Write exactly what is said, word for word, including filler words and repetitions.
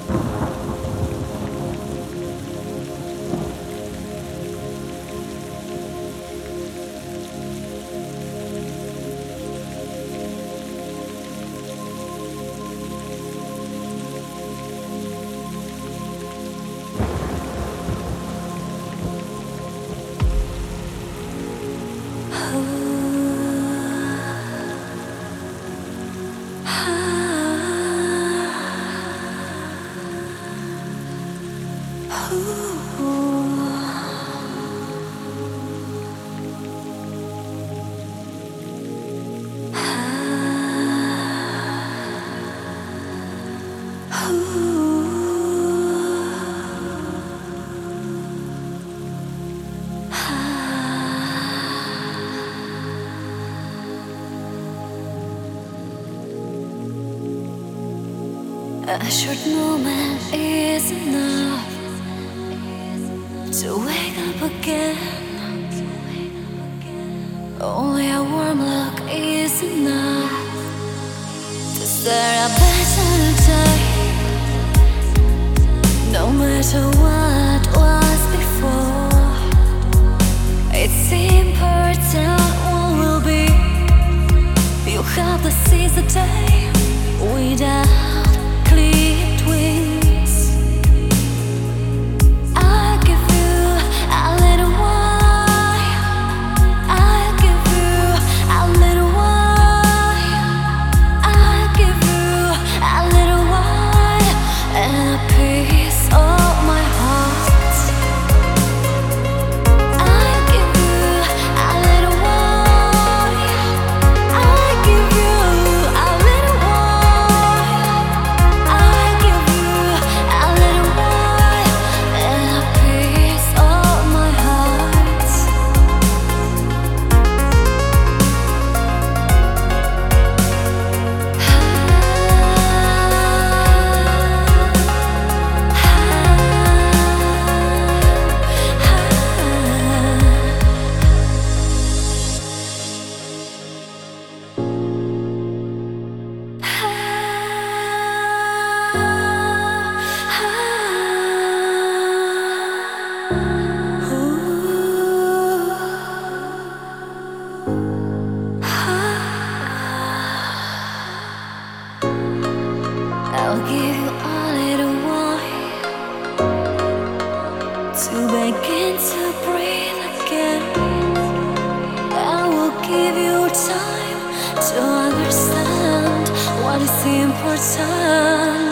A short moment is enough to wake up again. Only a warm look is enough to start a better day. No matter what was before, it's important what will be. You have to seize the day without clipped wings. I'll give you a little while. I'll give you a little while. I'll give you a little while and a piece of my heart. I'll give you a little while. I'll give you a little while. I'll give you a little while and a piece of my heart. I'll give you a little while to begin to breathe again. I will give you time to understand what is important.